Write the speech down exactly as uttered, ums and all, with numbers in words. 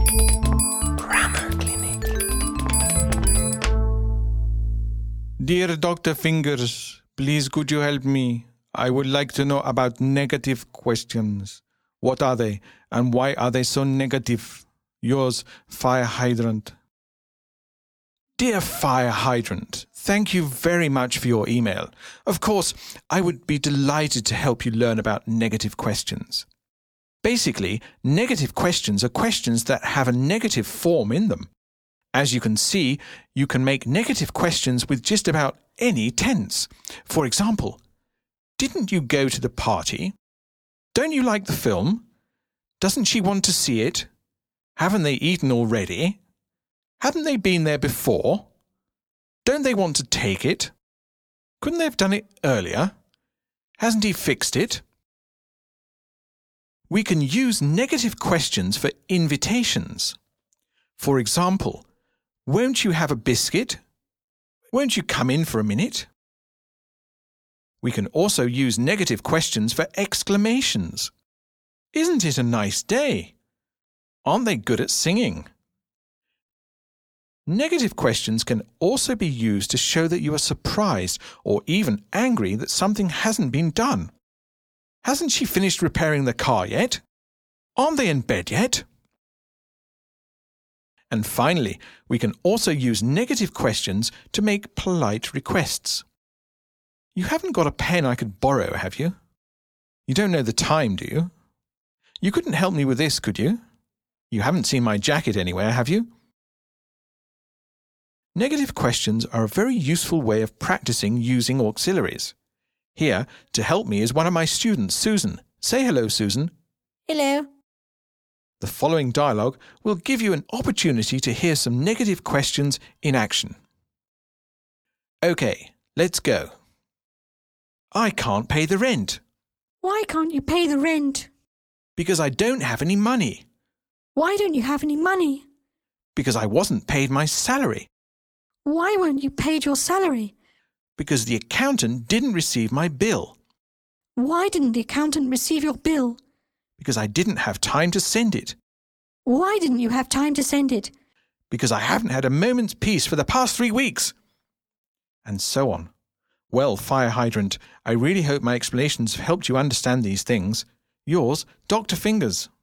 Grammar Clinic. Dear Doctor Fingers, please could you help me? I would like to know about negative questions. What are they, and why are they so negative? Yours, Fire Hydrant. Dear Fire Hydrant, thank you very much for your email. Of course, I would be delighted to help you learn about negative questions. Basically, negative questions are questions that have a negative form in them. As you can see, you can make negative questions with just about any tense. For example, didn't you go to the party? Don't you like the film? Doesn't she want to see it? Haven't they eaten already? Haven't they been there before? Don't they want to take it? Couldn't they have done it earlier? Hasn't he fixed it? We can use negative questions for invitations. For example, won't you have a biscuit? Won't you come in for a minute? We can also use negative questions for exclamations. Isn't it a nice day? Aren't they good at singing? Negative questions can also be used to show that you are surprised or even angry that something hasn't been done. Hasn't she finished repairing the car yet? Aren't they in bed yet? And finally, we can also use negative questions to make polite requests. You haven't got a pen I could borrow, have you? You don't know the time, do you? You couldn't help me with this, could you? You haven't seen my jacket anywhere, have you? Negative questions are a very useful way of practicing using auxiliaries. Here, to help me, is one of my students, Susan. Say hello, Susan. Hello. The following dialogue will give you an opportunity to hear some negative questions in action. OK, let's go. I can't pay the rent. Why can't you pay the rent? Because I don't have any money. Why don't you have any money? Because I wasn't paid my salary. Why weren't you paid your salary? Because the accountant didn't receive my bill. Why didn't the accountant receive your bill? Because I didn't have time to send it. Why didn't you have time to send it? Because I haven't had a moment's peace for the past three weeks. And so on. Well, Fire Hydrant, I really hope my explanations have helped you understand these things. Yours, Doctor Fingers.